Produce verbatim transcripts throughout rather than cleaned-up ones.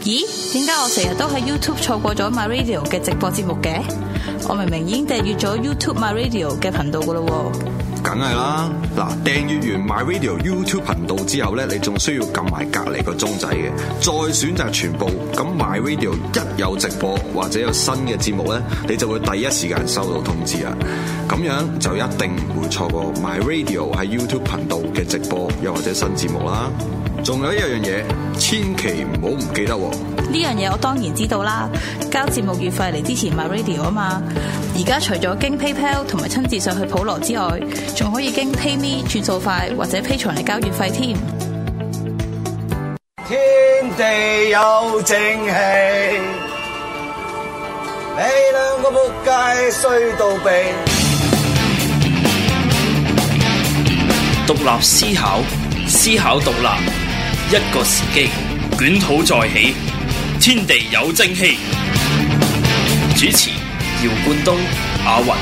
咦？點解我成日都喺 YouTube 錯過咗 My Radio 嘅直播節目嘅？我明明已經訂閱咗 YouTube My Radio 嘅頻道噶啦喎。 梗係啦，嗱，訂閱完 My Radio YouTube 頻道之後咧，你仲需要撳埋隔離個鐘仔嘅，再選擇全部。咁 My Radio 一有直播或者有新嘅節目咧，你就會第一時間收到通知啊！咁樣就一定唔會錯過 My Radio 喺 YouTube 頻道嘅直播又或者新節目啦。仲有一樣嘢，千祈唔好唔記得喎！ 呢樣嘢我當然知道啦，交節目月費嚟支持 My Radio 啊嘛。而家除咗經 PayPal 同埋親自上去普羅之外，仲可以經 PayMe 轉數快或者 Patreon嚟交月費添。 天地有正氣，你兩個仆街衰到痹。 獨立思考，思考獨立，一個時機，捲土再起，天地有正氣。主持：姚冠東、阿雲。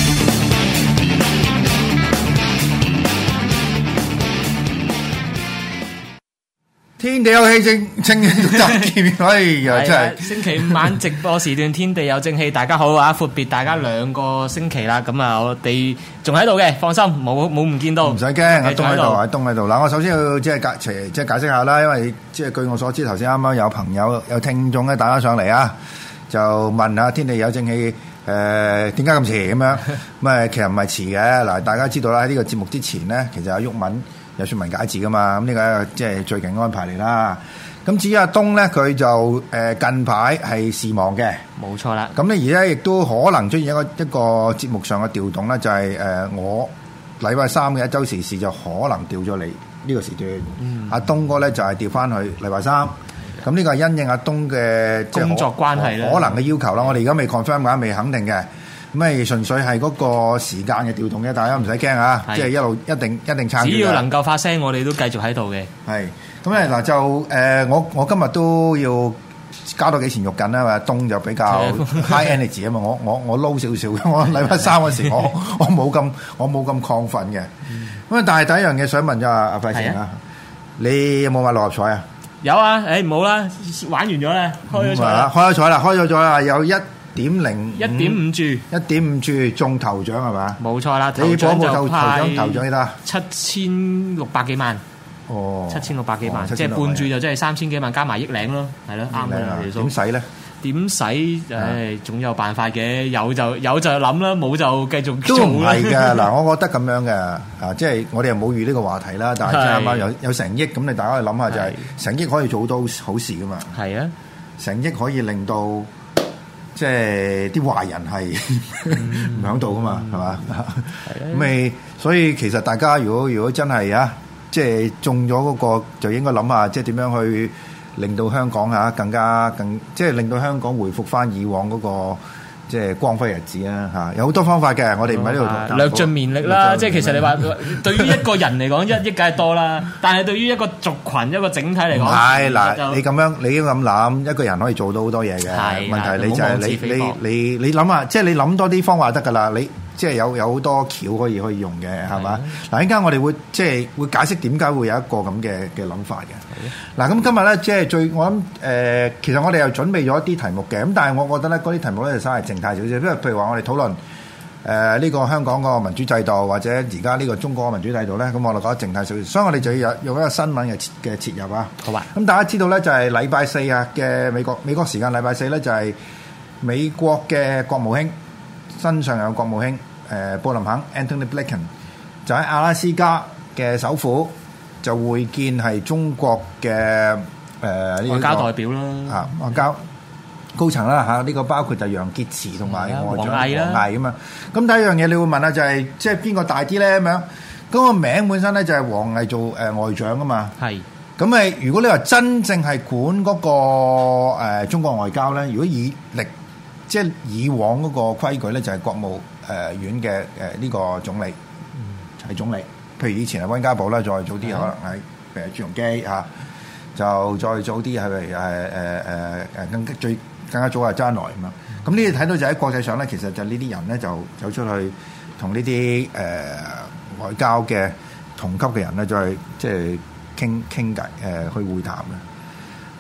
天地有氣正正氣得見，哎呀真係星期五晚直播時段，天地有正氣。大家好啊，闊別大家兩個星期啦。咁啊，我哋仲喺度嘅，放心，冇冇唔見到。 唔使驚，阿東喺度，阿東喺度。嗱，我首先要即係解即係解釋下啦，因為即係據我所知，頭先啱啱有朋友有聽眾咧打咗上嚟啊，就問下天地有正氣誒點解咁遲咁樣？咁啊，其實唔係遲嘅。嗱，大家知道啦，喺呢個節目之前咧，其實阿毓民有説文解字噶嘛，咁呢個即係最近安排嚟啦。咁至於阿東咧，佢就誒近排係事忙嘅， 冇錯啦。咁咧而家亦都可能出現一個一個節目上嘅調動咧，就係誒我禮拜三嘅一週時事就可能調咗嚟呢個時段。嗯、阿東哥咧就係調翻去禮拜三。咁呢個係因應阿東嘅工作關係啦， 可能嘅要求啦。我哋而家未 confirm 嘅，未肯定嘅。咁咪純粹係嗰個時間嘅調動嘅，大家唔使驚啊！即係一路一定一定撐住。 只要能夠發聲，我哋都繼續喺度嘅。 係咁咧嗱，就誒我我今日都要加多幾錢肉緊啦嘛。東就比較 high energy 啊嘛，我我我撈少少嘅。我禮拜三嗰時我我冇咁我冇咁亢奮嘅。咁啊，但係第一樣嘢想問咗阿阿費成啊，你有冇買六合彩啊？ 有啊，誒唔好啦，玩完咗啦，開咗彩啦， 開咗彩啦，開咗彩啦，有一點零一點五注， 一點五注中頭獎係嘛？ 冇錯啦， 你嗰部頭頭獎頭獎幾多？ 七千六百幾萬。 哦， 七千六百幾萬，即係半注就真係三千幾萬，加埋億領咯，係咯，啱嘅啦。 點使咧？ 點使？誒，總有辦法嘅，有就有就諗啦，冇就繼續做啦。 都唔係嘅，嗱，我覺得咁樣嘅，啊，即係我哋又冇預呢個話題啦，但係即係啱啱有有成億，咁你大家去諗下就係成億可以做好多好事噶嘛？ 係啊， 成億可以令到即係啲壞人係唔響度噶嘛，係嘛？咁咪所以其實大家如果如果真係啊，即係中咗嗰個，就應該諗下即係點樣去令到香港嚇更加更即係令到香港回復翻以往嗰個即係光輝日子啊嚇！有好多方法嘅，我哋唔喺呢度略盡綿力啦。即係其實你話對於一個人嚟講，一億梗係多啦，但係對於一個族群一個整體嚟講， 係嗱，你咁樣你要咁諗，一個人可以做到好多嘢嘅。問題你就係你你你你諗下，即係你諗多啲方法得㗎啦，你。即係有有好多橋可以可以用嘅，係嘛？嗱，依家我哋會即係會解釋點解會有一個咁嘅嘅諗法嘅。嗱，咁今日咧即係最我諗誒、呃，其實我哋又準備咗一啲題目嘅，咁但係我覺得咧嗰啲題目咧就稍為靜態少少，因為譬如話我哋討論誒呢個香港個民主制度，或者而家呢個中國嘅民主制度咧，咁我哋覺得靜態少少，所以我哋就要有用一個新聞嘅嘅切入啊。好啊。咁大家知道咧就係禮拜四啊嘅美國美國時間禮拜四咧就係美國嘅國務卿。新上任國務卿誒、呃、布林肯 Antony Blinken 就喺阿拉斯加嘅首府就會見係中國嘅誒呢個外交代表啦， 啊外交高層啦嚇，呢、這個包括就楊潔篪同埋外長王毅咁啊。咁第一樣嘢你會問下就係、是、即係邊個大啲咧咁樣？咁、那個名本身咧就係王毅做誒、呃、外長啊嘛。係咁誒，如果你話真正係管嗰、那個、呃、中國外交咧，如果以歷即係以往嗰個規矩咧，就係國務誒院嘅誒呢個總理係、嗯、總理。譬如以前係溫家寶啦，再早啲可能係譬如朱鎔基嚇，就再早啲係誒誒誒誒更最更加早係周恩來咁樣。咁呢啲睇到就喺國際上咧，其實就呢啲人咧就走出去同呢啲誒外交嘅同級嘅人咧，再即係傾傾偈誒去會談嘅。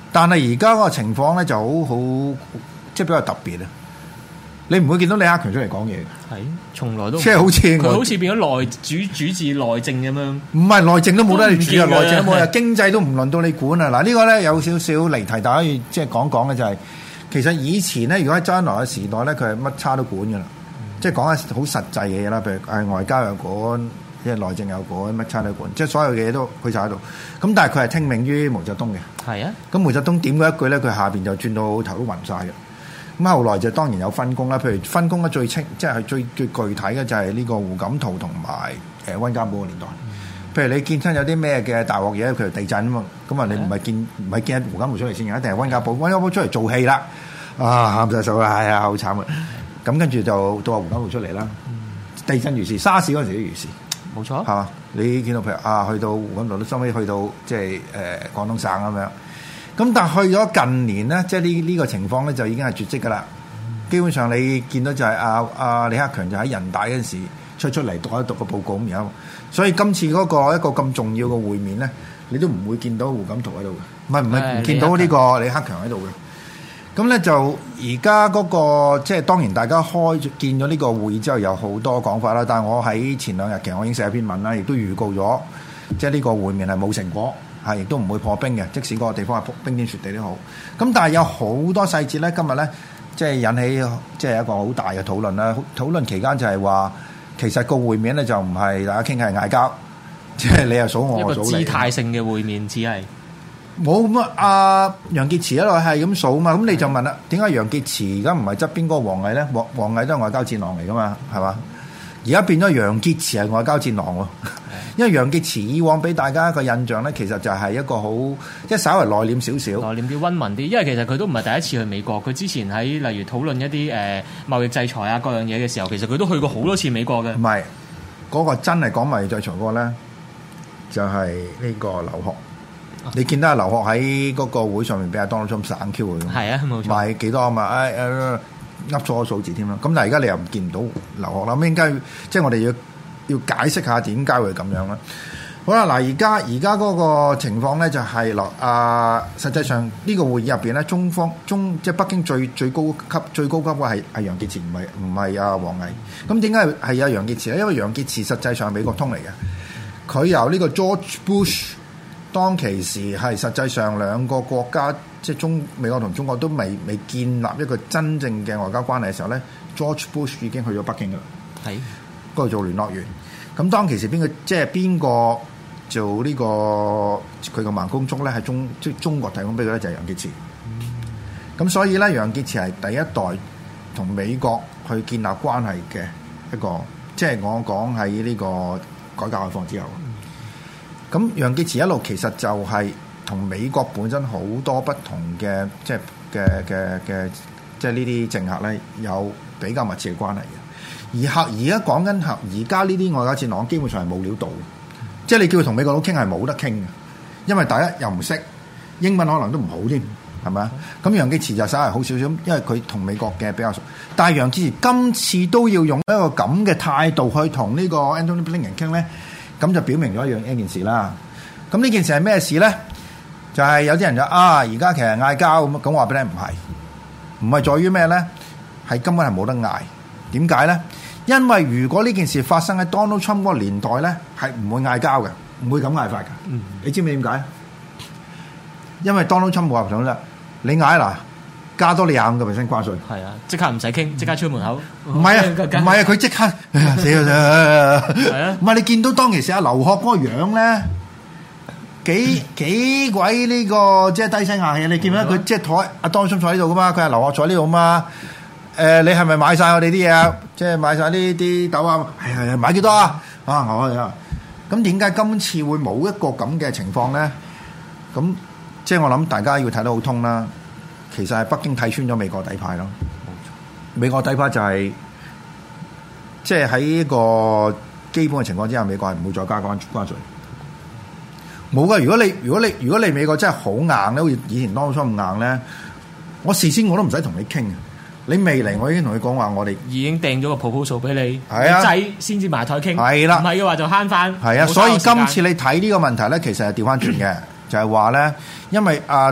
但係而家嗰個情況咧就好好，即係比較特別啊！你唔會見到李克強出嚟講嘢嘅， 係從來都即係好似佢好似變咗內主主治內政咁樣。 唔係內政都冇得你主啊，內政都冇啊， 係經濟都唔輪到你管啊！嗱，呢個咧有少少離題，大家可以即係講講嘅就係、是，其實以前咧，如果喺周恩來嘅時代咧，佢係乜差都管㗎啦，嗯、即係講下好實際嘅嘢啦，譬如誒外交又管，即係內政又管，乜差都管，即係所有嘅嘢都佢就喺度。咁但係佢係聽命於毛澤東嘅。係啊。咁毛澤東點嗰一句咧，佢下邊就轉到頭都暈晒嘅。咁後來就當然有分工啦，譬如分工得最清，即係最最具體嘅就係呢個胡錦濤同埋誒溫家寶嘅年代。嗯、譬如你見親有啲咩嘅大鑊嘢，譬如地震啊嘛，咁啊你唔係見唔係見胡錦濤出嚟先，一定係溫家寶，溫家寶出嚟做戲啦，啊喊晒手啦，係啊好慘啊！咁跟住就到阿胡錦濤出嚟啦。嗯、地震如是，沙士嗰陣時都如是，冇錯，係嘛？你見到譬如啊，去到胡錦濤都收尾去到即係誒廣東省咁樣。咁但係去咗近年咧，即係呢呢個情況咧，就已經係絕跡噶啦。基本上你見到就係阿阿李克強就喺人大嗰陣時出出嚟讀一讀個報告咁樣。所以今次嗰個一個咁重要嘅會面咧，你都唔會見到胡錦濤喺度嘅，唔係唔係唔見到呢個李克強喺度嘅。咁咧就而家嗰個即係當然大家開見咗呢個會議之後有好多講法啦。但係我喺前兩日其實我已經寫一篇文啦，亦都預告咗，即係呢個會面係冇成果。係，亦都唔會破冰嘅，即使嗰個地方係冰天雪地都好。咁但係有好多細節咧，今日咧即係引起即係一個好大嘅討論啦。討論期間就係話，其實個會面咧就唔係大家傾係嗌交，即係你又數我，我數你。一個姿態性嘅會面，只係冇咁啊！阿楊潔篪一路係咁數嘛，咁你就問啦，點解楊潔篪而家唔係側邊嗰個王毅咧？王王毅都係外交戰狼嚟噶嘛，係嘛？而家變咗楊潔篪係外交戰狼喎。因為楊潔篪以往俾大家一個印象咧，其實就係一個好即係稍為內斂少少，內斂啲、溫文啲。因為其實佢都唔係第一次去美國，佢之前喺例如討論一啲誒、呃、貿易制裁啊各樣嘢嘅時候，其實佢都去過好多次美國嘅。唔係嗰個真係講貿易制裁嗰個咧，就係、是、呢個劉鶴。啊、你見到阿劉鶴喺嗰個會上面俾阿 Donald Trump 省 Q 佢，係啊冇錯，賣幾多啊嘛？誒誒噏錯個數字添啦。咁但係而家你又唔見唔到劉鶴啦，咁應該即係我哋要。要解釋下點解會咁樣啦。好啦，嗱，而家而家嗰個情況咧就係落啊，實際上呢個會議入邊咧，中方中即係北京最最高級最高級嘅係係楊潔篪，唔係唔係阿王毅。咁點解係係阿楊潔篪咧？因為楊潔篪實際上係美國通嚟嘅，佢由呢個 George Bush 當其時係實際上兩個國家即係中美國同中國都未未建立一個真正嘅外交關係嘅時候咧 ，George Bush 已經去咗北京㗎啦。係。嗰度做聯絡員，咁當其時邊個即係邊個做呢個佢個盲公竹咧？係中即係中國提供俾佢咧，就係楊潔篪。咁、嗯、所以咧，楊潔篪係第一代同美國去建立關係嘅一個，即係我講喺呢個改革開放之後。咁、嗯、楊潔篪一路其實就係同美國本身好多不同嘅，即係嘅嘅嘅，即係呢啲政客咧有比較密切嘅關係嘅。而客而家講緊客，而家呢啲外交戰狼基本上係冇料到嘅，即係你叫佢同美國佬傾係冇得傾嘅，因為第一又唔識英文，可能都唔好添，係咪啊？咁楊潔篪就稍為好少少，因為佢同美國嘅比較熟。但係楊潔篪今次都要用一個咁嘅態度去同呢個 Antony Blinken 傾咧，咁就表明咗一樣一件事啦。咁呢件事係咩事咧？就係、是、有啲人就啊，而家其實嗌交咁，咁我話俾你唔係，唔係在於咩咧？係根本係冇得嗌。點解咧？因為如果呢件事發生喺 Donald Trump 嗰個年代咧，係唔會嗌交嘅，唔會咁嗌法嘅。嗯、你知唔知點解？因為 Donald Trump 冇話想啦，你嗌嗱加多你廿五個 percent 關稅，係啊，即刻唔使傾，即刻出門口。唔係啊，唔係啊，佢即刻死啊死啊！係啊，唔係你見到當其時阿劉鶴嗰個樣咧，幾幾鬼呢、這個即係低聲下氣。你見唔見佢即係坐阿 Donald Trump 坐喺度噶嘛？佢係劉鶴坐喺呢度嘛？誒、呃，你係咪買晒我哋啲嘢啊？即係買晒呢啲豆啊？係係係，買幾多啊？啊，我啊，咁點解今次會冇一個咁嘅情況咧？咁即係我諗大家要睇得好通啦。其實係北京睇穿咗美國底牌咯。美國底牌就係、是、即係喺一個基本嘅情況之下，美國係唔會再加關關稅。冇噶，如果你如果你如果你美國真係好硬咧，好似以前當初咁硬咧，我事先我都唔使同你傾。你未嚟，我已經同佢講話，我哋已經訂咗個 proposal 俾你，係啊，仔先至埋台傾，係啦，唔係嘅話就慳翻。係啊，所以今次你睇呢個問題咧，其實係調翻轉嘅，就係話咧，因為啊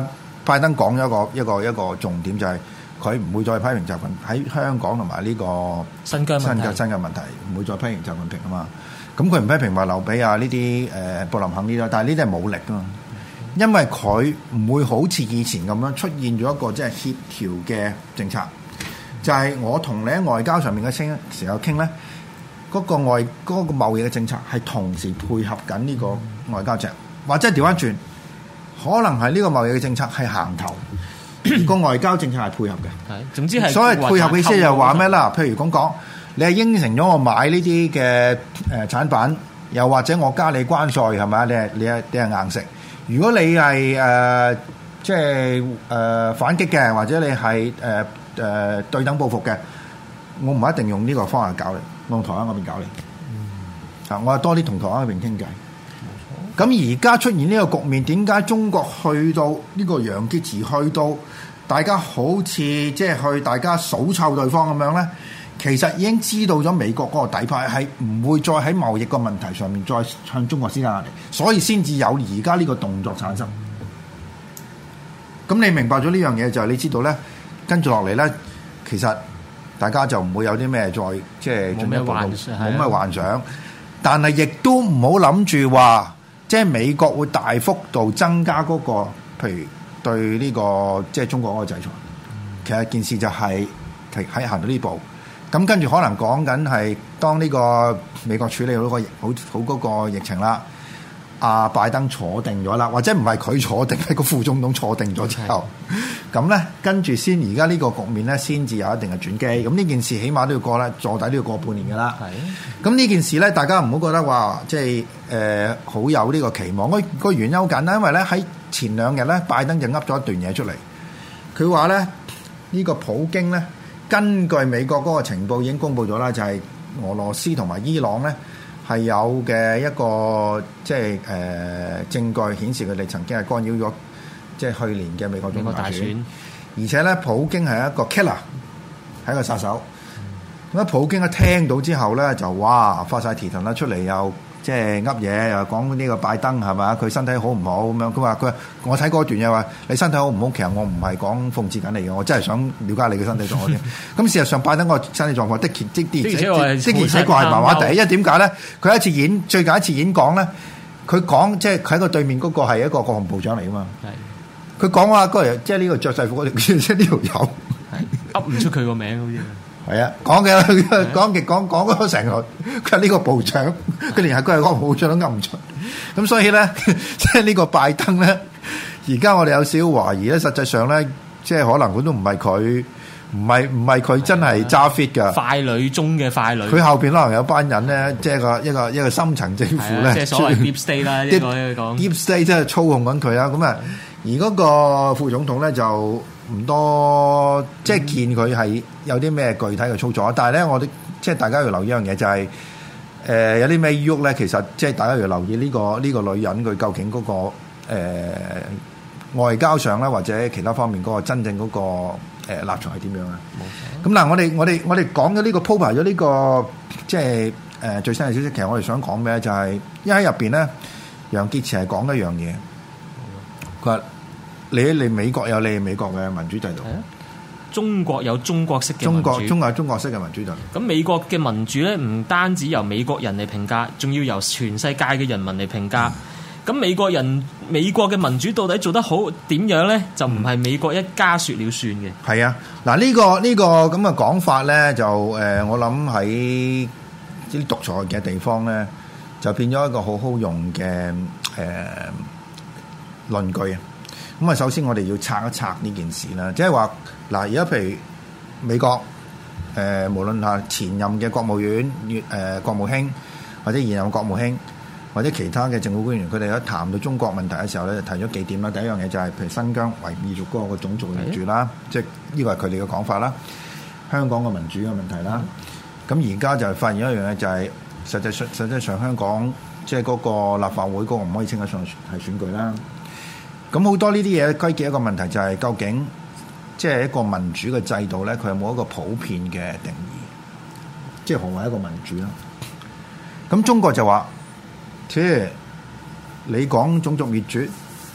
拜登講咗一個一個一個重點，就係佢唔會再批評習近平喺香港同埋呢個新疆新疆新嘅問題，唔會再批評習近平啊嘛。咁佢唔批評話劉備啊呢啲誒布林肯呢啲，但係呢啲係武力啊嘛。因為佢唔會好似以前咁樣出現咗一個即係協調嘅政策，就係、是、我同你喺外交上面嘅傾時候傾咧，嗰、那個外嗰、那個貿易嘅政策係同時配合緊呢個外交政策，或者調翻轉，可能係呢個貿易嘅政策係行頭，個外交政策係配合嘅。係，總之係所謂配合嘅意思就係話咩啦？譬如講講，你係應承咗我買呢啲嘅誒產品，又或者我加你關稅係咪？你係你係你係硬食。如果你係誒、呃、即係誒、呃、反擊嘅，或者你係誒誒對等報復嘅，我唔一定用呢個方法搞你，我用台灣嗰邊搞你。嗯，啊，我係多啲同台灣嗰邊傾偈。冇錯。咁而家出現呢個局面，點解中國去到呢個楊潔篪去到大家好似即係去大家數臭對方咁樣咧？其實已經知道咗美國嗰個底牌係唔會再喺貿易個問題上面再向中國施加壓力，所以先至有而家呢個動作產生。咁你明白咗呢樣嘢就係你知道咧，跟住落嚟咧，其實大家就唔會有啲咩再即係進一步冇咩幻，幻想，但係亦都唔好諗住話即係美國會大幅度增加嗰、嗰個，譬如對呢、呢個即係中國嗰個制裁。其實件事就係喺行到呢步。咁跟住可能講緊係當呢個美國處理好個好好嗰個疫情啦，阿拜登坐定咗啦，或者唔係佢坐定，係個副總統坐定咗之後，咁咧跟住先而家呢個局面咧先至有一定嘅轉機。咁呢件事起碼都要過咧，坐底都要過半年㗎啦。咁呢件事咧，大家唔好覺得話即係誒好有呢個期望。個個原因好簡單，因為咧喺前兩日咧，拜登就噏咗一段嘢出嚟，佢話咧呢個普京咧。根據美國嗰個情報已經公布咗啦，就係、是、俄羅斯同埋伊朗咧係有嘅一個即係誒、呃、證據顯示佢哋曾經係干擾咗即係去年嘅美國總統大選，大選而且咧普京係一個 killer， 係一個殺手。咁、嗯、普京一聽到之後咧就哇發晒蹄騰啦出嚟又。即係噏嘢又講呢個拜登係嘛？佢身體好唔好咁樣？佢話佢我睇嗰段嘢話你身體好唔好？其實我唔係講諷刺緊你嘅，我真係想了解你嘅身體狀況先。咁事實上拜登個身體狀況的確的的的而且確係麻麻地，因為點解咧？佢一次演最近一次演講咧，佢講即係佢喺個對面嗰個係一個國防部長嚟噶嘛。佢講話嗰日即係呢個着制服嗰條，即係呢條友噏唔出佢個名好似。係啊，講嘅講極講講咗成個，佢係呢個部長，佢連係佢係個部長都噏唔出。咁所以咧，即係呢個拜登咧，而家我哋有少少懷疑咧，實際上咧，即係可能佢都唔係佢，唔係唔係佢真係揸 fit 㗎。傀儡中嘅傀儡。佢後邊可能有班人咧，即係個一個一個深層政府咧，即係所謂 deep state 啦，應該講 deep state 即係操控緊佢啊。咁啊，而嗰個副總統咧就。唔多，即係見佢係有啲咩具體嘅操作，但係咧，我哋即係大家要留意一樣嘢，就係、是、誒、呃、有啲咩喐咧。其實即係大家要留意呢、這個呢、這個女人佢究竟嗰、那個、呃、外交上咧，或者其他方面嗰個真正嗰、那個、呃、立場係點樣啊？咁嗱，我哋我哋我哋講咗呢個鋪排咗呢個即係誒、呃、最新嘅消息。其實我哋想講咩就係、是，因為喺入邊咧，楊潔篪係講一樣嘢，佢話。你你美國有你美國嘅民主制度， 中國有中國式嘅民主，中國中國有中國式嘅民主制度。 咁美國嘅民主咧，唔單止由美國人嚟評價，仲要由全世界嘅人民嚟評價。咁、嗯、美國人美國嘅民主到底做得好點樣咧？就唔係美國一家說了算嘅。 係啊，嗱、這、呢個呢、這個咁嘅講法咧，就誒、呃、我諗喺啲獨裁嘅地方咧，就變咗一個好好用嘅誒、呃、論據啊。咁啊，首先我哋要拆一拆呢件事啦，即係話嗱，而家譬如美國誒、呃，無論係前任嘅國務院、誒、呃、國務卿，或者現任國務卿，或者其他嘅政府官員，佢哋一談到中國問題嘅時候咧，就提咗幾點啦。第一樣嘢就係、是、譬如新疆維吾爾族嗰個種族嘅民主啦，即係呢個係佢哋嘅講法啦。香港嘅民主嘅問題啦，咁而家就發現一樣嘢就係、是、實際上實際上香港即係嗰個立法會嗰個唔可以稱得上係選舉啦。咁好多呢啲嘢歸結一個問題，就係究竟即係一個民主嘅制度咧，佢有冇一個普遍嘅定義？即係何謂一個民主啦？咁中國就話，即係你講種族滅絕，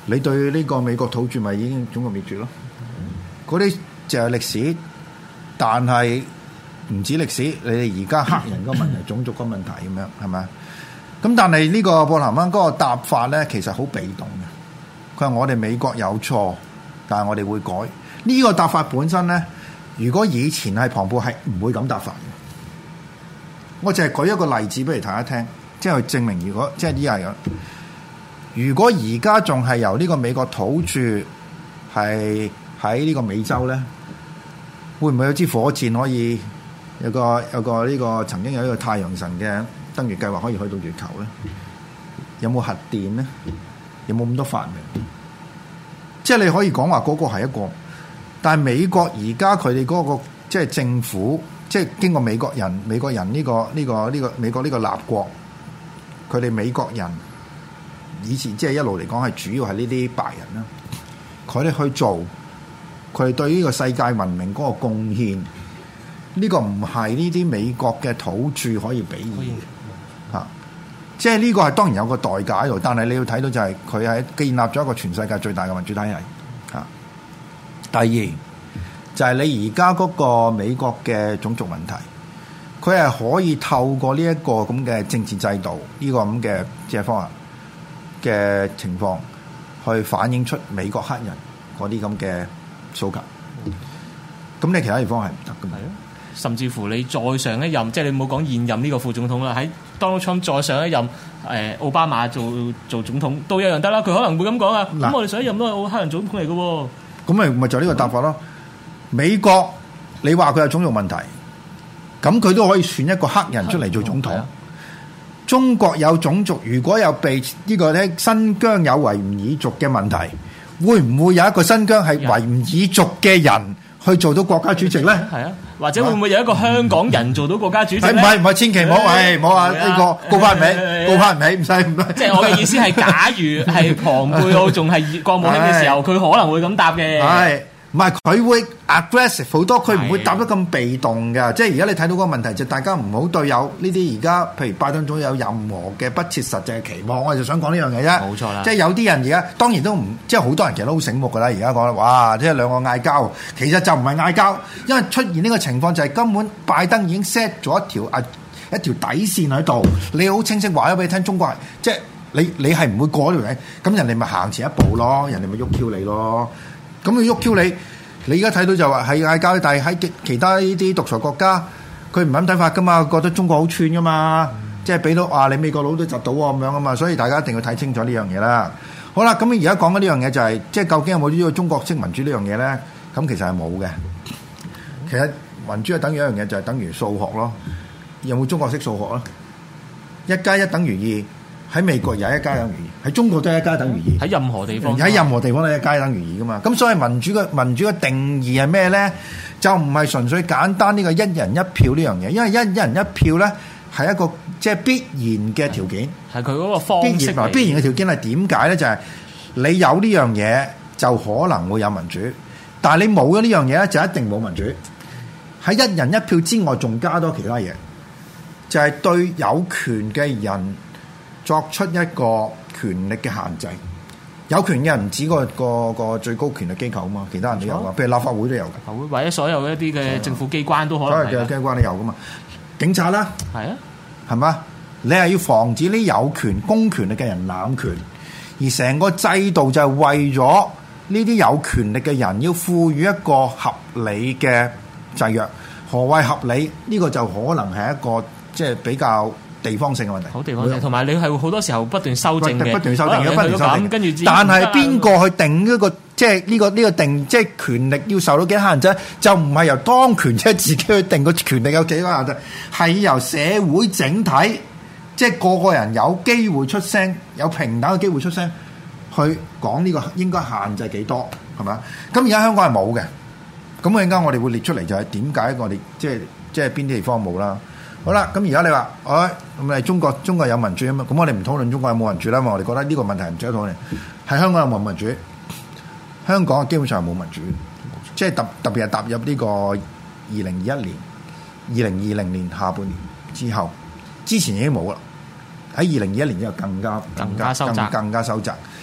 你對呢個美國土著咪已經種族滅絕咯？嗰啲就係歷史，但係唔止歷史，你哋而家黑人個問題、種族個問題咁樣係咪？咁但係呢個布林肯嗰個答法咧，其實好被動嘅。佢話我哋美國有錯，但係我哋會改。呢個答法本身咧，如果以前係龐貝係唔會咁答法嘅。我淨係舉一個例子俾你大家聽，即係證明如果即係呢樣。如果而家仲係由呢個美國土著係喺呢個美洲咧，會唔會有支火箭可以有個有個呢個曾經有一個太陽神嘅登月計劃可以去到月球咧？有冇核電咧？有冇咁多發明？即係你可以講話嗰個係一個，但係美國而家佢哋嗰個即係政府，即係經過美國人美國人呢個呢個呢個美國呢個立國，佢哋美國人。以前即係一路嚟講係主要係呢啲白人啦，佢哋去做，佢哋對呢個世界文明嗰個貢獻，呢、呢個唔係呢啲美國嘅土著可以比擬嘅嚇。即係呢個係當然有個代價喺度，但係你要睇到就係佢係建立咗一個全世界最大嘅民主體系嚇。第二就係、是、你而家嗰個美國嘅種族問題，佢係可以透過呢一個咁嘅政治制度，呢、呢個咁嘅即係方案嘅情況去反映出美國黑人嗰啲咁嘅訴求，咁、嗯、你其他地方係唔得㗎嘛？ 甚至乎你再上一任，即係你冇講現任呢個副總統啦，喺 Donald Trump 再上一任，誒、呃、奧巴馬做做總統都一樣得啦。佢可能會咁講啊。咁我哋上一任都係黑人總統嚟嘅喎。咁咪咪就呢個答法咯。美國你話佢有種族問題，咁佢都可以選一個黑人出嚟做總統。中國有種族，如果有被呢個咧新疆有維吾爾族嘅問題，會唔會有一個新疆係維吾爾族嘅人去做到國家主席咧？ 係啊，或者會唔會有一個香港人做到國家主席咧？ 唔係唔係，千祈唔好，係唔好話呢個高攀唔起，高攀唔起，唔使唔使。 即係我嘅意思係，假如係龐貝奧仲係國務卿嘅時候，佢可能會咁答嘅。 係。唔係佢會 aggressive 好多，佢唔會答得咁被動嘅。即係而家你睇到嗰個問題就大家唔好對有呢啲而家譬如拜登總統有任何嘅不切實際嘅期望，我就想講呢樣嘢啫。 冇錯啦， 即係有啲人而家當然都唔，即係好多人其實都好醒目㗎啦。而家講哇，即係兩個嗌交，其實就唔係嗌交，因為出現呢個情況就係根本拜登已經 set 咗一條啊一條底線喺度，你好清晰話咗俾你聽，中國係即係你你係唔會過呢條底，咁人哋咪行前一步咯，人哋咪喐 Q 你咯。咁佢喐 Q 你，你而家睇到就話係嗌交，但係喺其他呢啲獨裁國家，佢唔咁睇法噶嘛，覺得中國好串噶嘛，嗯、即係俾到啊你美國佬都窒到喎咁樣啊嘛，所以大家一定要睇清楚呢樣嘢啦。好啦，咁而家講緊呢樣嘢就係、是，即係究竟有冇呢個中國式民主呢樣嘢咧？咁其實係冇嘅。其實民主係等於一樣嘢，就係、是、等於數學咯。有冇中國式數學啊？一加一等於二。喺美國有一加等於二，喺中國都係一加等於二。 喺任何地方， 喺任何地方都係一加等於二噶嘛。咁所以民主嘅民主嘅定義係咩咧？就唔係純粹簡單呢個一人一票呢樣嘢，因為一一人一票咧係一個即係必然嘅條件。 係佢嗰個方式。必然必然嘅條件係點解咧？就係、是、你有呢樣嘢就可能會有民主，但係你冇咗呢樣嘢咧就一定冇民主。喺一人一票之外，仲加多其他嘢，就係、是、對有權嘅人作出一個權力嘅限制，有權嘅人唔止個個個最高權力機構啊嘛，其他人都有啊，譬如立法會都有嘅，立法會或者所有一啲嘅政府機關都可能係， 所有嘅機關都有噶嘛，警察啦， 係啊， 係嘛？你係要防止呢有權公權力嘅人濫權，而成個制度就係為咗呢啲有權力嘅人要賦予一個合理嘅制約。何謂合理？呢個就可能係一個即係比較地方性嘅問題， 好地方性，同埋你係好多時候不斷修正嘅， 不斷修正，不斷修正。 跟住， 但係邊個去定呢個即係呢個呢個定即係權力要受到幾多限制？就唔係由當權者自己去定個權力有幾多限制，係由社會整體，即係個個人有機會出聲，有平等嘅機會出聲，去講呢個應該限制幾多，係咪？咁而家香港係冇嘅，咁陣間我哋會列出嚟，就係點解我哋即係即係邊啲地方冇啦？好啦，咁而家你話，哎，咁你中國中國有民主啊嘛？咁我哋唔討論中國有冇民主啦，因為我哋覺得呢個問題唔值得討論。喺香港有冇民主？香港基本上係冇民主，即係特特別係踏入呢個二零二一年、二零二零年下半年之後，之前已經冇啦。喺二零二一年之後更加更加收窄，更加收窄。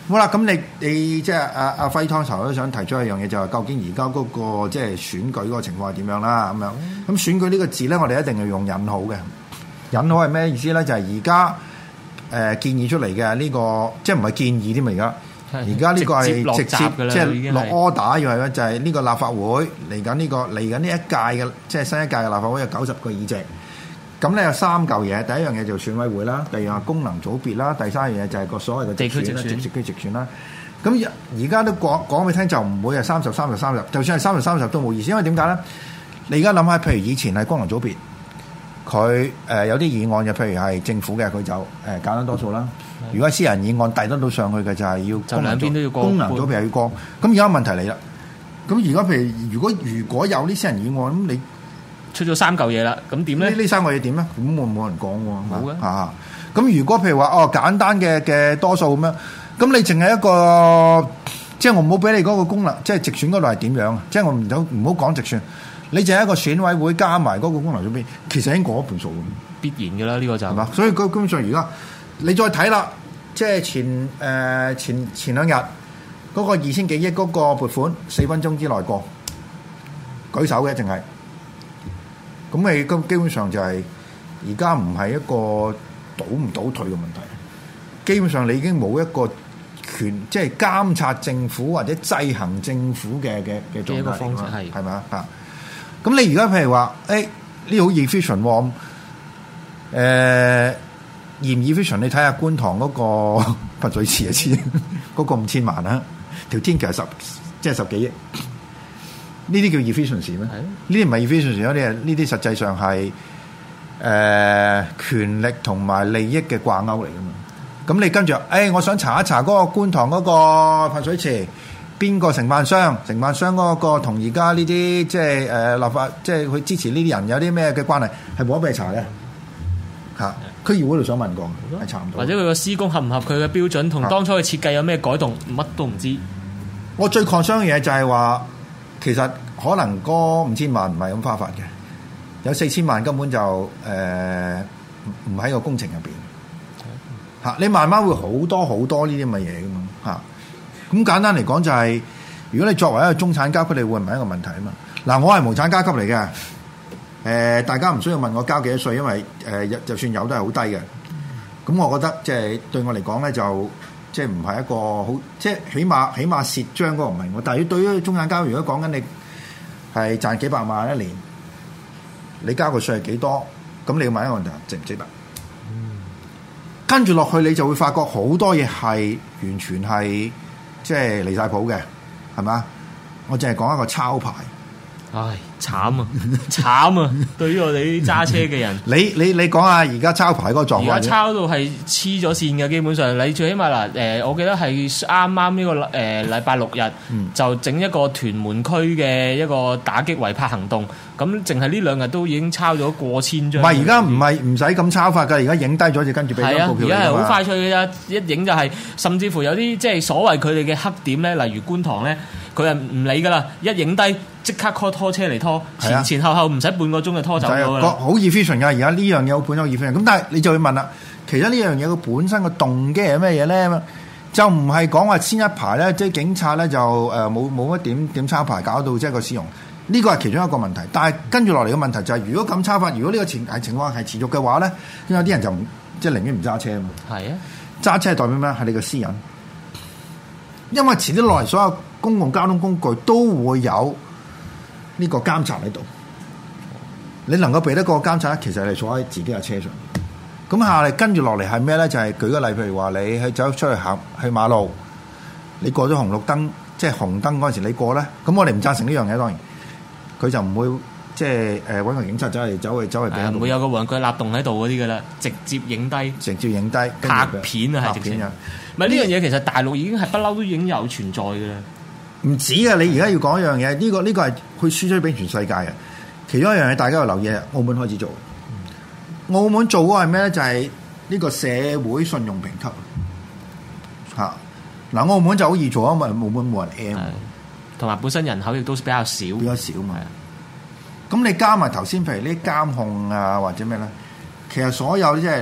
好啦，咁你你即係阿阿輝湯頭都想提出一樣嘢，就係究竟而家嗰個即係選舉嗰個情況係點樣啦？咁樣咁選舉呢個字咧，我哋一定要用引號嘅。引號係咩意思咧？就係而家誒建議出嚟嘅呢個，即係唔係建議添啊？而家而家呢個係直接即係落 order 要係咧，就係呢個立法會嚟緊呢個嚟緊呢一屆嘅，即係新一屆嘅立法會有九十個議席。咁咧有三嚿嘢，第一樣嘢就選委會啦，第二樣係功能組別啦，第三樣嘢就係個所謂嘅地區直選、 直區直選啦。咁而家都講講俾你聽，就唔會係三十、三十、三十，就算係三十、三十都冇意思，因為點解咧？你而家諗下，譬如以前係功能組別。佢誒、呃、有啲議案嘅，譬如係政府嘅，佢就誒簡單多數啦。如果私人議案遞得到上去嘅，就係要就兩邊都要過功能組別又要過。咁而家問題嚟啦。咁而家譬如如果如果有啲私人議案，咁你出咗三嚿嘢啦，咁點咧？呢呢三個嘢點咧？咁冇冇人講喎。 冇嘅嚇。咁如果譬如話哦簡單嘅嘅多數咁樣，咁你淨係一個，即係我唔好俾你嗰個功能，即係直選嗰度係點樣啊？即係我唔好唔好講直選。你就係一個選委會加埋嗰個功能組別，其實已經過一半數， 必然嘅啦，呢、這個就係嘛。所以基本上而家你再睇啦，即係前誒、呃、前前兩日嗰個二千幾億嗰個撥款，四分鐘之內過，舉手嘅淨係。咁你咁基本上就係而家唔係一個倒唔倒退嘅問題，基本上你已經冇一個權，即係監察政府或者制衡政府嘅嘅嘅狀態。一個方式係係咪啊？嚇！咁你而家譬如話，誒呢好 efficient 喎，誒、呃、嚴 efficient，你睇下觀塘嗰個噴水池就知，嗰個五千萬啦，條天橋係十即係十幾億，呢啲叫 efficiency 咩？呢啲唔係 efficiency，呢啲呢啲實際上係誒、呃、權力同埋利益嘅掛鈎嚟噶嘛。咁你跟住，誒、哎、我想查一查嗰個觀塘嗰個噴水池。邊個承辦商？承辦商嗰個同而家呢啲即係誒立法，即係佢支持呢啲人有啲咩嘅關係，係冇得俾你查嘅嚇。區議會度想問過，係查唔到。 或者佢個施工合唔合佢嘅標準，同當初嘅設計有咩改動，乜都唔知。 我最 concern 嘅嘢就係話，其實可能嗰五千萬唔係咁花法嘅，有四千萬根本就誒唔喺個工程入邊嚇。你慢慢會好多好多呢啲咁嘅嘢噶嘛嚇。咁簡單嚟講就係、是，如果你作為一個中產階級，你會唔係一個問題啊嘛？嗱，我係無產階級嚟嘅，誒、呃，大家唔需要問我交幾多稅，因為誒、呃，就算有都係好低嘅。咁我覺得即係對我嚟講咧，就即係唔係一個好，即係起碼起碼蝕張嗰個唔係我。但係對於中產階級，如果講緊你係賺幾百萬一年，你交個稅係幾多？咁你要問一個問題，值唔值得？嗯、跟住落去，你就會發覺好多嘢係完全係。即係離晒譜嘅，係嘛？我淨係講一個抄牌， 唉，慘啊，慘啊！對於我哋啲揸車嘅人， 你你你講下而家抄牌嗰個狀況， 而家抄到係黐咗線嘅，基本上你最起碼嗱，誒、呃，我記得係啱啱呢個誒禮拜六日、嗯、就整一個屯門區嘅一個打擊違泊行動，咁淨係呢兩日都已經抄咗過千張。唔係，而家唔係唔使咁抄法㗎，而家影低咗就跟住俾張告票。係啊，而家係好快脆嘅啫，一影就係、是，甚至乎有啲即係所謂佢哋嘅黑點咧，例如觀塘咧，佢係唔理㗎啦，一影低即刻 call 拖車嚟拖，前、啊、前後後唔使半個鐘就拖走咗啦。 好 efficient 㗎，而家呢樣嘢好本身好 efficient。咁但係你就會問啦，其實呢樣嘢佢本身個動機係咩嘢咧？就唔係講話先一排咧，即係警察咧就誒冇冇乜點點抄牌，搞到即係個使用。呢個係其中一個問題，但係跟住落嚟嘅問題就係、是，如果咁抄法，如果呢個情係情況係持續嘅話咧，有啲人就唔即係寧願唔揸車啊嘛。係啊，揸車係代表咩？係你個私隱，因為遲啲落嚟所有公共交通工具都會有呢個監察喺度。你能夠避得過監察，其實係坐喺自己嘅車上。咁下嚟跟住落嚟係咩咧？就係、是、舉個例，譬如話你去走出去行去馬路，你過咗紅綠燈，即係紅燈嗰陣時你過咧，咁我哋唔贊成呢樣嘢，當然。佢就唔會即係誒揾個警察走嚟走去走嚟，唔會有個玩具立洞喺度嗰啲㗎啦，直接影低， 直接影低拍片啊，係直接。唔係呢樣嘢，其實大陸已經係不嬲都已經有存在㗎啦。唔止啊！你而家要講一樣嘢，呢、呢個呢、呢個係去輸出俾全世界嘅。其中一樣嘢，大家要留意，澳門開始做。嗯、澳門做嗰個係咩咧？就係、是、呢個社會信用評級嚇。嗱、啊，澳門就好易做，因為澳門冇人 M。 同埋本身人口亦都比較少， 比較少嘛。咁你加埋頭先，譬如呢啲監控啊或者咩咧，其實所有即係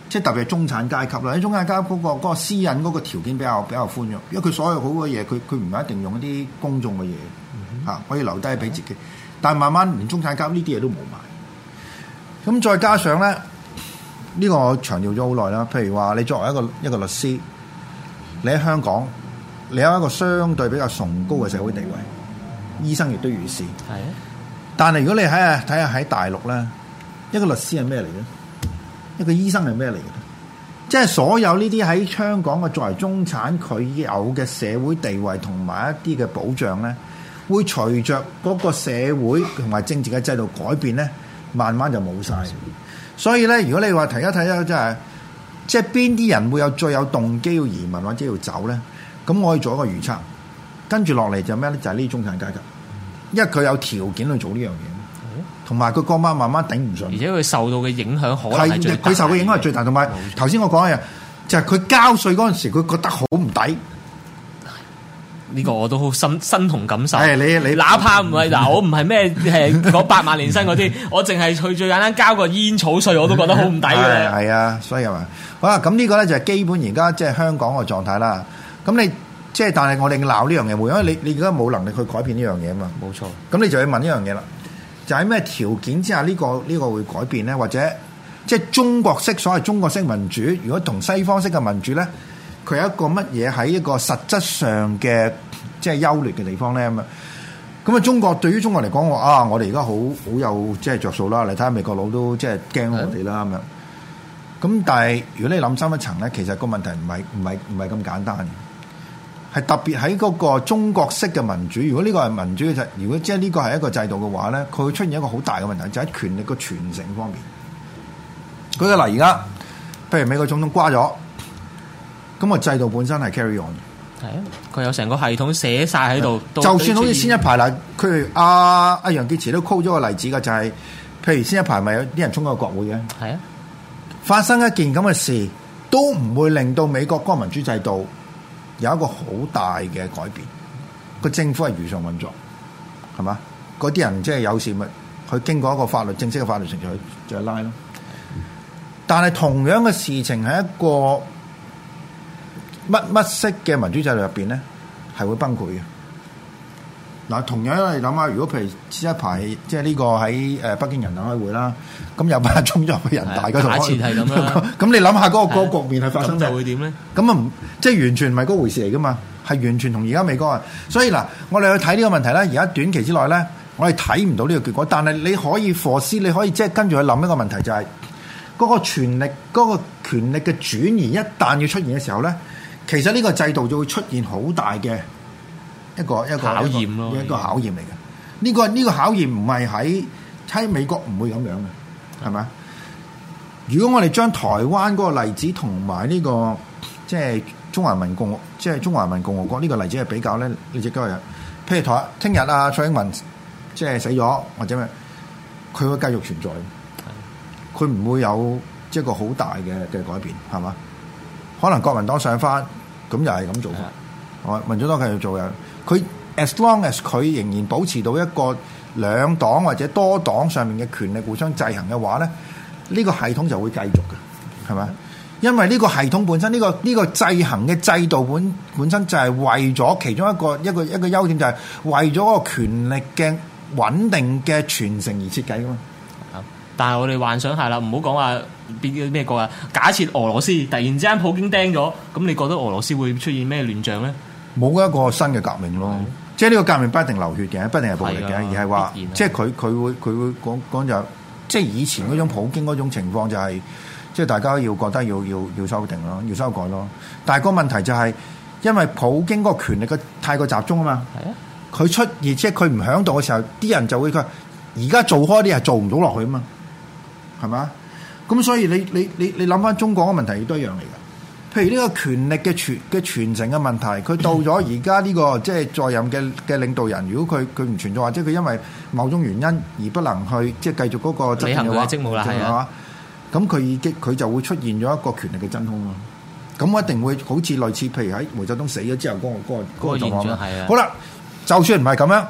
即係特別係中產階級啦。喺中產階級嗰個嗰個私隱嗰個條件比較比較寬容，因為佢所有好嘅嘢，佢佢唔係一定用一啲公眾嘅嘢嚇，可以留低俾自己。但係慢慢連中產階級呢啲嘢都冇埋。咁再加上咧，呢個我強調咗好耐啦。譬如話，你作為一個一個律師，你喺香港，你有一個相對比較崇高嘅社會地位，醫生亦都如是。係啊。但係如果你睇下睇下喺大陸咧，一個律師係咩嚟嘅？一個醫生係咩嚟嘅？即係所有呢啲喺香港嘅作為中產，佢有嘅社會地位同埋一啲嘅保障咧，會隨着嗰個社會同埋政治嘅制度改變咧，慢慢就冇晒。所以咧，如果你話睇一睇咧，即係即係邊啲人會有最有動機要移民或者要走咧？咁我可以做一個預測，跟住落嚟就咩咧？就係呢啲中產階級。因為佢有條件去做呢樣嘢，同埋佢嗰晚慢慢頂唔順， 而且佢受到嘅影響可能係最大。 佢受嘅影響係最大，同埋頭先我講嘅就係佢交稅嗰陣時，佢覺得好唔抵。 呢個我都好身身同感受。 係你你， 哪怕唔係嗱，我唔係咩係嗰八萬年薪嗰啲，我淨係去最簡單交個煙草稅，我都覺得好唔抵嘅。 係啊，所以係嘛，好啦，咁呢個咧就係基本而家即係香港嘅狀態啦。咁你。即係，但係我哋鬧呢樣嘢，因為你你而家冇能力去改變呢樣嘢啊嘛。冇錯。咁你就要問呢樣嘢啦，就喺咩條件之下呢個呢個會改變咧？或者即係中國式所謂中國式民主，如果同西方式嘅民主咧，佢有一個乜嘢喺一個實質上嘅即係優劣嘅地方咧咁啊？咁啊，中國對於中國嚟講，我啊，我哋而家好好有即係着數啦。你睇下美國佬都即係驚我哋啦咁樣。咁但係如果你諗深一層咧，其實個問題唔係唔係唔係咁簡單嘅。係特別喺嗰個中國式嘅民主，如果呢個係民主嘅制，如果即係呢個係一個制度嘅話咧，佢會出現一個好大嘅問題，就喺、是、權力嘅傳承方面。舉個例，而家譬如美國總統瓜咗，咁個制度本身係 carry on 嘅。係啊，佢有成個系統寫晒喺度。就算好似先一排啦，佢阿阿楊潔篪都 call 咗個例子嘅，就係、是、譬如先一排咪有啲人衝咗個國會嘅。係啊，發生一件咁嘅事，都唔會令到美國嗰個民主制度有一個好大嘅改變，個政府係如常運作，係嘛？嗰啲人即係有事咪去經過一個法律正式嘅法律程序去就去拉咯。但係同樣嘅事情喺一個乜乜式嘅民主制度入邊咧，係會崩潰嘅。嗱，同樣你諗下，如果譬如前一排即係呢個喺誒北京人大開會啦，咁有班人衝咗去人大嗰度，假設係咁啦。咁你諗下嗰個嗰個局面係發生咩？就會點咧？咁啊唔即係完全唔係嗰回事嚟噶嘛，係完全同而家美國啊。所以嗱，我哋去睇呢個問題咧，而家短期之內咧，我哋睇唔到呢個結果。但係你可以 foresee，你可以即係跟住去諗一個問題，就係嗰個權力嗰個權力嘅轉移一旦要出現嘅時候咧，其實呢個制度就會出現好大嘅一個一個考驗咯，一個考驗嚟嘅。呢個呢個考驗唔係喺喺美國唔會咁樣嘅，係咪？如果我哋將台灣嗰個例子同埋呢個即係中華人民共和即係中華人民共和國呢個例子係比較咧，你只今日譬如台聽日啊蔡英文即係死咗或者咩，佢會繼續存在，佢唔會有即係一個好大嘅嘅改變，係嘛？可能國民黨上翻，咁又係咁做法，係民主黨繼續做嘅。佢 as long as 佢仍然保持到一個兩黨或者多黨上面嘅權力互相制衡嘅話咧，呢個系統就會繼續嘅，係咪？因為呢個系統本身呢個呢個制衡嘅制度本本身就係為咗其中一個一個一個優點，就係為咗個權力嘅穩定嘅傳承而設計噶嘛。但係我哋幻想下啦，唔好講話邊咩國啊。假設俄羅斯突然之間普京釘咗，咁你覺得俄羅斯會出現咩亂象咧？冇一個新嘅革命咯，嗯、即係呢個革命不一定流血嘅，不一定係暴力嘅，而係話即係佢佢會佢會講講就即係以前嗰種普京嗰種情況就係、是、即係大家要覺得要要要修訂咯，要修改咯。但係個問題就係、是、因為普京嗰個權力嘅太過集中啊嘛，佢出而即係佢唔響度嘅時候，啲人就會佢而家做開啲係做唔到落去啊嘛。係嘛？咁所以你你你你諗翻中國嘅問題亦都一樣嚟嘅。譬如呢個權力嘅傳嘅傳承嘅問題，佢到咗而家呢個即係在任嘅嘅領導人，如果佢佢唔存在，或者佢因為某種原因而不能去即係繼續嗰個執行嘅職務啦，係嘛？咁佢已經佢就會出現咗一個權力嘅真空咯。咁我一定會好似類似譬如喺毛澤東死咗之後嗰、嗰個嗰、嗰個嗰個狀況。係啊。好啦，就算唔係咁樣，呢、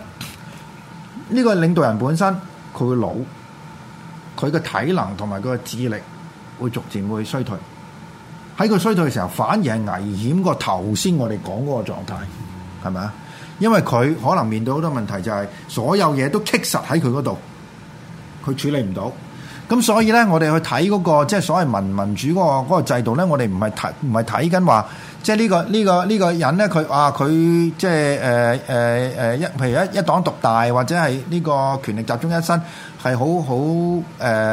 呢個領導人本身佢會老。佢嘅體能同埋佢嘅智力會逐漸會衰退。喺佢衰退嘅時候，反而係危險過頭先我哋講嗰個狀態，係咪啊？因為佢可能面對好多問題，就係所有嘢都棘實喺佢嗰度，佢處理唔到。咁所以咧，我哋去睇嗰個即係所謂民民主嗰個嗰個制度咧，我哋唔係睇唔係睇緊話，即係呢個呢個呢個人咧，佢啊佢即係誒誒誒一，譬如一一黨獨大，或者係呢個權力集中一身，係好好誒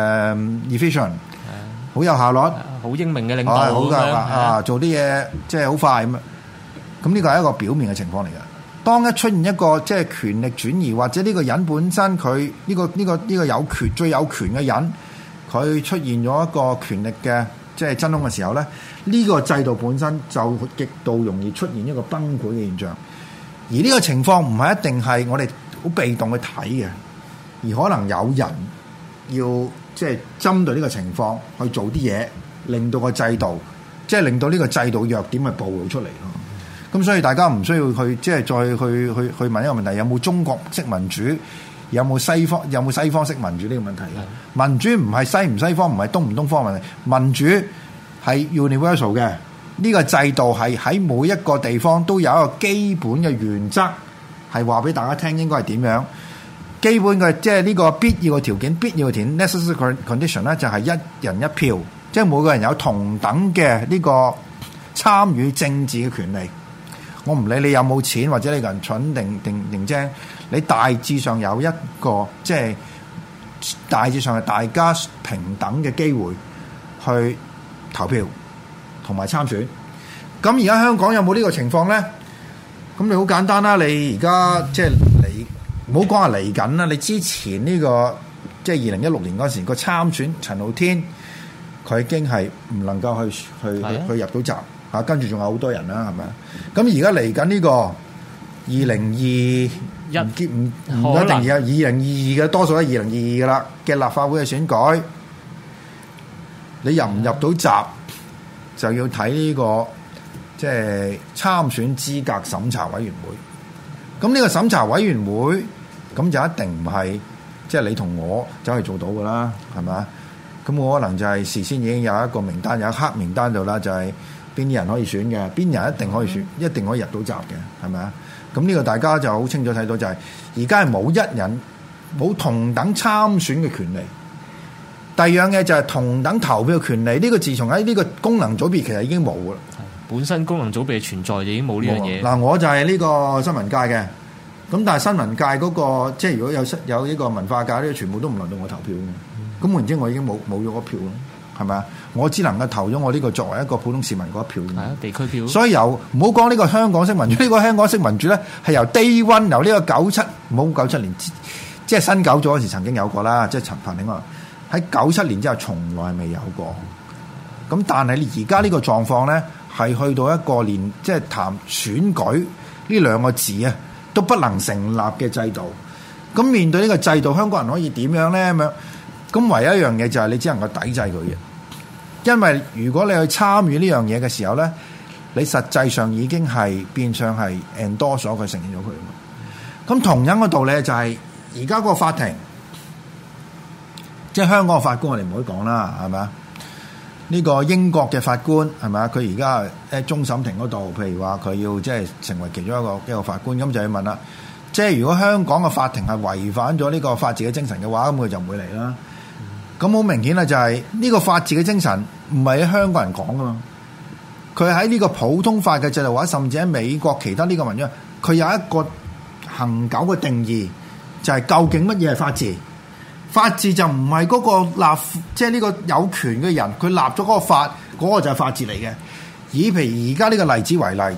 efficient，好有效率， 好英明嘅領導， 好㗎啊，做啲嘢即係好快咁啊。咁呢個係一個表面嘅情況嚟㗎。當一出現一個即係權力轉移，或者呢個人本身佢呢個呢個呢個有權最有權嘅人，佢出現咗一個權力嘅即係真空嘅時候咧，呢個制度本身就極度容易出現一個崩潰嘅現象。而呢個情況唔係一定係我哋好被動去睇嘅，而可能有人要即係針對呢個情況去做啲嘢，令到個制度即係令到呢個制度弱點係暴露出嚟咯。咁所以大家唔需要去即係再去去去問一個問題，有冇中國式民主，有冇西方有冇西方式民主呢個問題嘅？民主唔係西唔西方，唔係東唔東方問題，民主係 universal 嘅。呢個制度係喺每一個地方都有一個基本嘅原則，係話俾大家聽應該係點樣。基本嘅即係呢個必要嘅條件，必要嘅條件 necessary condition 咧，就係一人一票，即係每個人有同等嘅呢個參與政治嘅權利。我唔理你有冇錢，或者你個人蠢定定定精，你大致上有一個即係大致上係大家平等嘅機會去投票同埋參選。咁而家香港有冇呢個情況咧？咁你好簡單啦，你而家即係嚟，唔好講話嚟緊啦。你之前呢個即係二零一六年嗰時個參選陳浩天，佢已經係唔能夠去去去入到閘。啊，跟住仲有好多人啦，係咪啊？咁而家嚟緊呢個二零二一唔唔唔一定有二零二二嘅，多數係二零二二嘅啦嘅立法會嘅選舉，你入唔入到閘就要睇呢個即係參選資格審查委員會。咁呢個審查委員會咁就一定唔係即係你同我走去做到㗎啦，係咪啊？咁我可能就係事先已經有一個名單，有一黑名單度啦，就係邊啲人可以選嘅，邊人一定可以選，一定可以入到閘嘅，係咪啊？咁呢個大家就好清楚睇到，就係而家係冇一人冇同等參選嘅權利。第二樣嘢就係同等投票嘅權利。呢個自從喺呢個功能組別其實已經冇㗎啦。 本身功能組別存在就已經冇呢樣嘢。 嗱，我就係呢個新聞界嘅，咁但係新聞界嗰個即係如果有有呢個文化界呢個全部都唔輪到我投票嘅。咁換言之，我已經冇冇咗嗰票咯，係咪啊？我只能夠投咗我呢個作為一個普通市民嗰一票。係啊， 地區票。所以由唔好講呢個香港式民主，呢個香港式民主咧係由 day one 由呢個九七唔好九七年，即係新九咗嗰時曾經有過啦，即係陳凡鼎話喺九七年之後從來未有過。咁但係而家呢個狀況咧係去到一個連即係談選舉呢兩個字啊都不能成立嘅制度。咁面對呢個制度，香港人可以點樣咧咁樣？咁唯一一樣嘢就係你只能夠抵制佢嘅。因為如果你去參與呢樣嘢嘅時候咧，你實際上已經係變相係 endorse 咗佢，承認咗佢。咁同樣嘅道理就係而家個法庭，即係香港嘅法官，我哋唔可以講啦，係咪啊？呢個英國嘅法官係咪啊？佢而家喺終審庭嗰度，譬如話佢要即係成為其中一個一個法官，咁就要問啦。即係如果香港嘅法庭係違反咗呢個法治嘅精神嘅話，咁佢就唔會嚟啦。咁好明顯啦，就係呢個法治嘅精神唔係喺香港人講噶嘛，佢喺呢個普通法嘅制度，或者甚至喺美國其他呢個文章，佢有一個恆久嘅定義，就係究竟乜嘢係法治？法治就唔係嗰個立，即係呢個有權嘅人，佢立咗嗰個法，嗰個就係法治嚟嘅。以譬如而家呢個例子為例，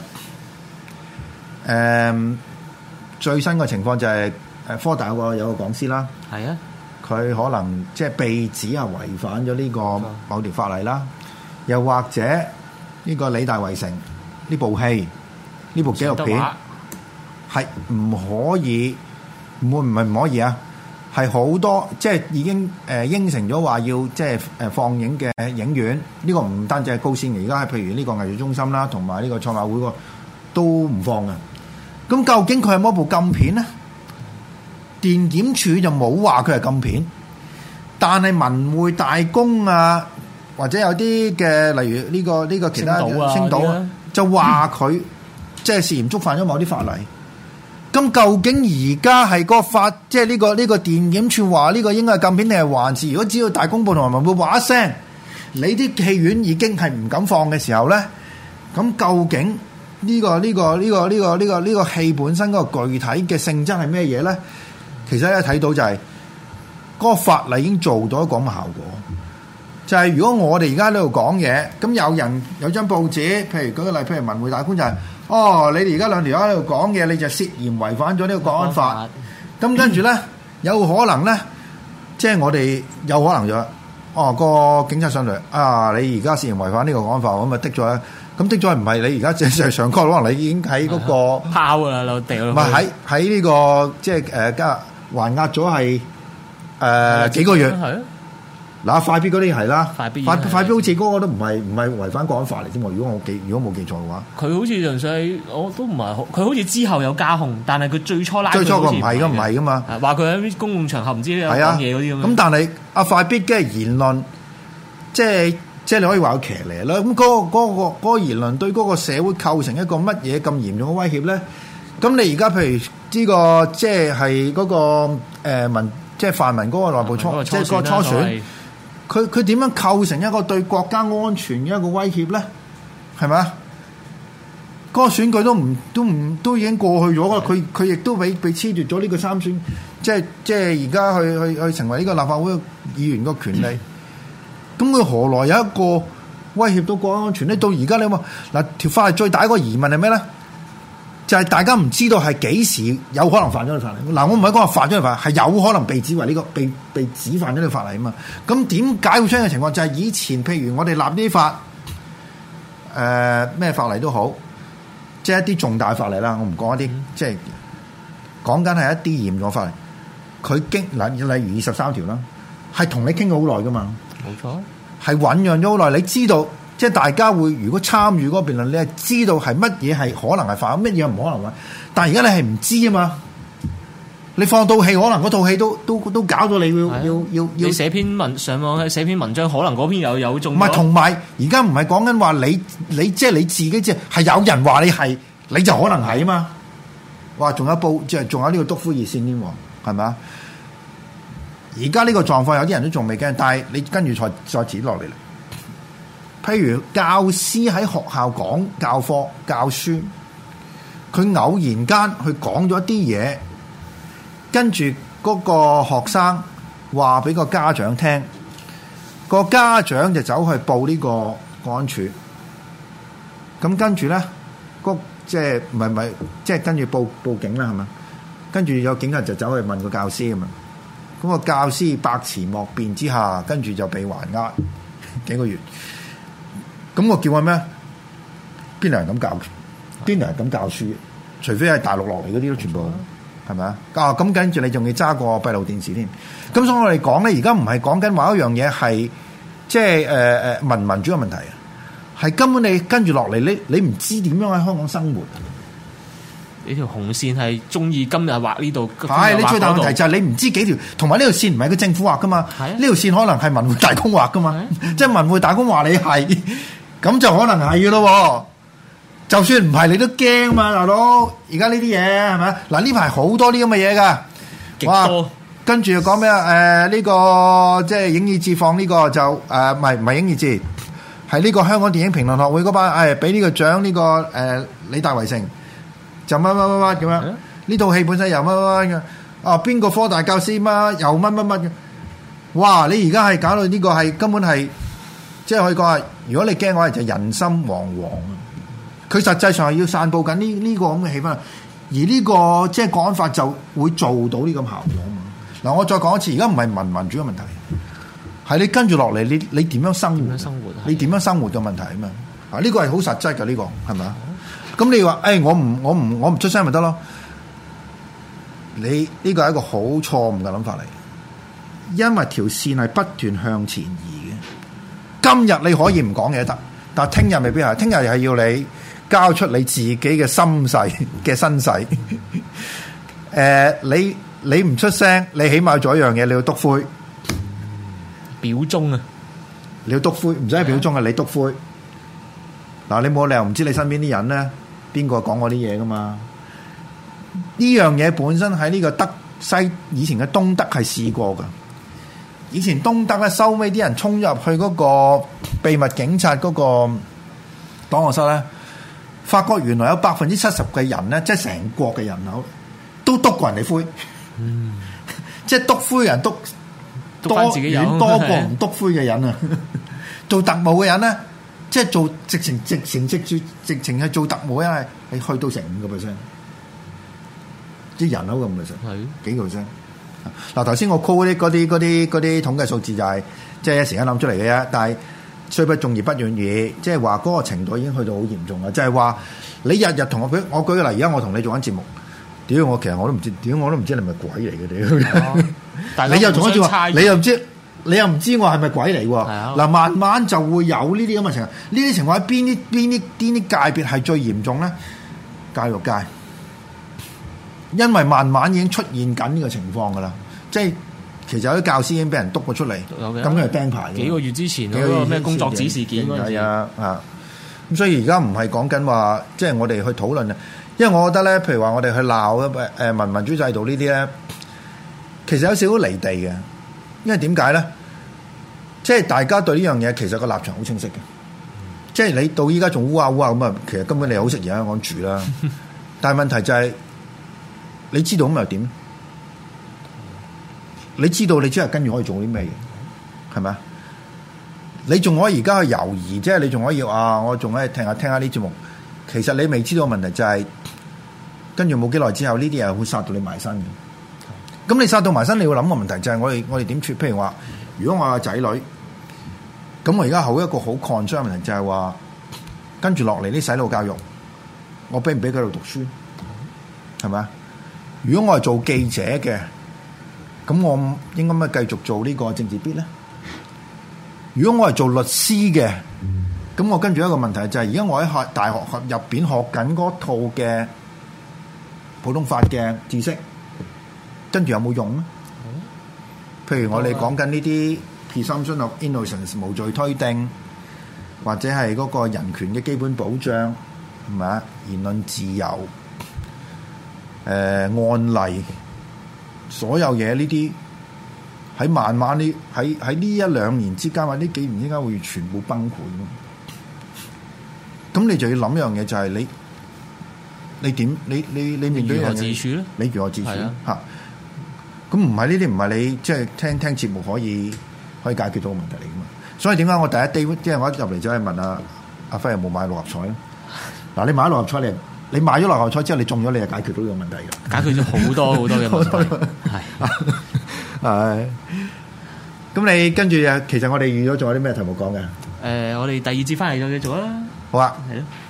誒最新嘅情況就係誒科大有個有個講師啦，係啊。佢可能即係被指係違反咗呢個某條法例啦，又或者呢個理大圍城呢部戲呢部紀錄片係唔可以，唔會唔係唔可以啊，係好多即係已經誒應承咗話要即係誒放映嘅影院，呢個唔單止係高先嘅，而家係譬如呢個藝術中心啦，同埋呢個創亞會個都唔放嘅。咁究竟佢係乜部禁片咧？電檢處就冇話佢係禁片，但係文匯大公啊、 或者有啲嘅，例如呢、這個呢、這個其他星島啊， 星島啊就話佢即係涉嫌觸犯咗某啲法例。咁究竟而家係個法，即係呢個呢、這個電檢處話呢個應該係禁片定係還是？如果只要大公報同埋文匯報話一聲，你啲戲院已經係唔敢放嘅時候咧，咁究竟呢、這個呢、這個呢、這個呢、這個呢、這個呢、這個戲本身嗰個具體嘅性質係咩嘢咧？其實一睇到就係、是、嗰、那個法例已經做到一個咁嘅效果，就係、是、如果我哋而家喺度講嘢，咁有人有張報紙，譬如舉個例，譬如文匯大官就係、是。哦，你哋而家兩條友喺度講嘢，你就涉嫌違反咗呢個國安法。咁跟住咧，有可能咧，即係我哋有可能就，哦個警察上嚟啊，你而家涉嫌違反呢個國安法，咁咪的咗咧。咁的咗唔係你而家正正上崗，可能你已經喺嗰個拋噶啦，落地咯。 唔係喺喺呢個即係誒加還押咗係誒幾個月。嗱，快必嗰啲係啦，快必快必好似嗰個都唔係唔係違反國安法嚟啫嘛。如果我記如果冇記錯嘅話， 佢好似純粹我都唔係好，佢好似之後有加控，但係佢最初拉最初個唔係噶，唔係噶嘛， 話佢喺公共場合唔知有講嘢嗰啲咁。 咁但係阿快必嘅言論，即係即係你可以話佢騎呢啦。咁嗰、嗰個嗰、嗰個嗰個言論對嗰個社會構成一個乜嘢咁嚴重嘅威脅咧？咁你而家譬如呢、呢個即係係嗰個誒民、呃、即係泛民嗰個內部初即係個初選。佢佢點樣構成一個對國家安全嘅一個威脅咧？係咪啊？嗰、那個選舉都唔都唔都已經過去咗啦。佢佢亦都俾被褫奪咗呢個參選，即係即係而家去去去成為呢個立法會議員個權利。咁佢、嗯、何來有一個威脅到國家安全咧？到而家你話嗱條法例最大一個疑問係咩咧？就係、是、大家唔知道係幾時有可能犯咗呢個法例。嗱，我唔係講話犯咗呢個法例，係有可能被指為呢、這個被被指犯咗呢個法例啊嘛。咁點解會出現嘅情況？就係、是、以前譬如我哋立呢啲法，誒、呃、咩法例都好，即係一啲重大法例啦。我唔講一啲，嗯、即係講緊係一啲嚴重法例。佢經嗱例如二十三條啦，係同你傾咗好耐噶嘛。冇錯，係醖釀咗好耐。你知道。即係大家會如果參與嗰個辯論，你係知道係乜嘢係可能係犯，乜嘢唔可能犯。但係而家你係唔知啊嘛。你放套戲，可能嗰套戲都都都搞到你要要要要。 你寫篇文上網寫篇文章，可能嗰篇又有中。 唔係，同埋而家唔係講緊話你你即係你自己，即係係有人話你係，你就可能係啊嘛。哇！仲有報即係仲有呢個篤灰熱線添喎，係咪啊？而家呢個狀況有啲人都仲未驚，但係你跟住再再指落嚟啦。譬如教師喺學校講教課教書，佢偶然間去講咗啲嘢，跟住嗰個學生話俾個家長聽，個家長就走去報呢個國安處，咁跟住咧，個即係唔係唔係即係跟住報報警啦，係咪？跟住有警察就走去問個教師啊嘛，咁個教師百詞莫辯之下，跟住就被還押幾個月。咁我叫佢咩？邊度人咁教？邊度人咁教書？除非係大陸落嚟嗰啲都全部係咪啊？啊咁跟住你仲要揸個閉路電視添。咁所以我哋講咧，而家唔係講緊話一樣嘢係即係誒誒民民主嘅問題啊，係根本你跟住落嚟，你你唔知點樣喺香港生活。 呢條紅線係中意今日畫呢度， 係你最大問題就係你唔知幾條，同埋呢條線唔係個政府畫噶嘛？呢條線可能係文匯大公畫噶嘛？即係文匯大公話你係，咁就可能係噶咯。就算唔係，你都驚嘛，大佬。而家呢啲嘢係咪？嗱呢排好多啲咁嘅嘢噶， 極多。 跟住又講咩啊？誒、呃、呢、這個即係影意志放呢個就誒唔係唔係影意志，係呢個香港電影評論學會嗰班誒俾呢個獎呢、這個誒、呃、李大圍城。就乜乜乜乜咁樣，呢套戲本身又乜乜乜嘅，啊邊個科大教師乜又乜乜乜嘅，哇！你而家係搞到呢個係根本係，即係可以講係，如果你驚嘅話就人心惶惶。佢實際上係要散佈緊呢呢個咁嘅氣氛，而呢個即係國安法就會做到呢咁效果啊嘛。嗱，我再講一次，而家唔係民民主嘅問題，係你跟住落嚟，你你點樣生活？ 生活你點樣生活嘅問題啊嘛。啊，呢個係好實質嘅呢個，係咪啊？咁你話，誒、哎，我唔，我唔，我唔出聲咪得咯？你呢個係一個好錯誤嘅諗法嚟，因為條線係不斷向前移嘅。今日你可以唔講嘢得，但係聽日未必係。聽日係要你交出你自己嘅心世嘅身世。誒、呃，你你唔出聲，你起碼做一樣嘢，你要篤灰表忠啊！ 你要篤灰，唔使表忠嘅，你篤灰。嗱，你冇理由唔知你身邊啲人咧，邊個講嗰啲嘢噶嘛？呢樣嘢本身喺呢個德西以前嘅東德係試過噶。以前東德咧收尾啲人衝入去嗰個秘密警察嗰個檔案室咧，發覺原來有百分之七十嘅人咧，即係成國嘅人口都篤過人哋灰，嗯、即係篤灰人篤多遠多過唔篤灰嘅人啊！做特務嘅人咧，即係做直情直情直住直情係做特務，因為你去到成五個 percent，啲人口咁 percent，係幾個 percent。嗱，頭先我 call 啲嗰啲嗰啲嗰啲統計數字就係即係一時間諗出嚟嘅啫，但係雖不中而不遠矣，即係話嗰個程度已經去到好嚴重啦。就係、是、話你日日同我舉我舉個例，而家我同你做緊節目，屌我其實我都唔知，屌我都唔知你係咪鬼嚟嘅屌！但係你又同我做話，你又唔知，你又唔知我係咪鬼嚟喎？嗱，慢慢就會有呢啲咁嘅情況。呢啲情況喺邊啲邊啲邊啲界別係最嚴重咧？教育界。因為慢慢已經出現緊呢個情況噶啦，即係其實有啲教師已經俾人督咗出嚟，咁佢係釘牌。幾個月之前嗰個咩工作紙事件嗰陣時，係啊啊！咁所以而家唔係講緊話，即係我哋去討論啊。因為我覺得咧，譬如話我哋去鬧誒民民主制度呢啲咧，其實有少少離地嘅。因為點解咧？即係大家對呢樣嘢其實個立場好清晰嘅。即係你到依家仲烏啊烏啊咁啊，其實根本你好適宜喺香港住啦。但係問題就係、是。你知道咁又點？你知道你只係跟住可以做啲咩嘢？係咪啊？你仲可以而家去猶豫，即係你仲可以啊！我仲可以聽下聽下呢節目。其實你未知道嘅問題就係、是，跟住冇幾耐之後，呢啲嘢會殺到你埋身嘅。咁你殺到埋身，你要諗個問題就係我哋我哋點處？譬如話，如果我有仔女，咁我而家好一個好 concern 嘅問題就係話，跟住落嚟啲洗腦教育，我俾唔俾佢度讀書？係咪啊？如果我係做記者嘅，咁我應該咪繼續做呢個政治必咧？如果我係做律師嘅，咁我跟住一個問題就係、是，而家我喺學大學入邊學緊嗰套嘅普通法嘅知識，跟住有冇用咧？譬如我哋講緊呢啲 presumption of innocence 無罪推定，或者係嗰個人權嘅基本保障，係咪啊？言論自由。誒、呃、案例，所有嘢呢啲喺慢慢呢喺喺呢一兩年之間或者呢幾年之間會全部崩潰。咁你就要諗一樣嘢，就係你你點你你你面對如何自處咧？你如何自處嚇？咁唔係呢啲唔係你即係、就是、聽聽節目可以可以解決到嘅問題嚟噶嘛？所以點解我第一 day 即係我一入嚟就係問阿阿輝有冇買六合彩咧？嗱，你買六合彩你？你買咗六合彩之後，你中咗，你就解決到呢個問題㗎。解決咗好多好多嘅問題。係係。咁你跟住啊，其實我哋預咗仲有啲咩題目講嘅？誒、呃，我哋第二節翻嚟再繼續啦。好啊。係咯。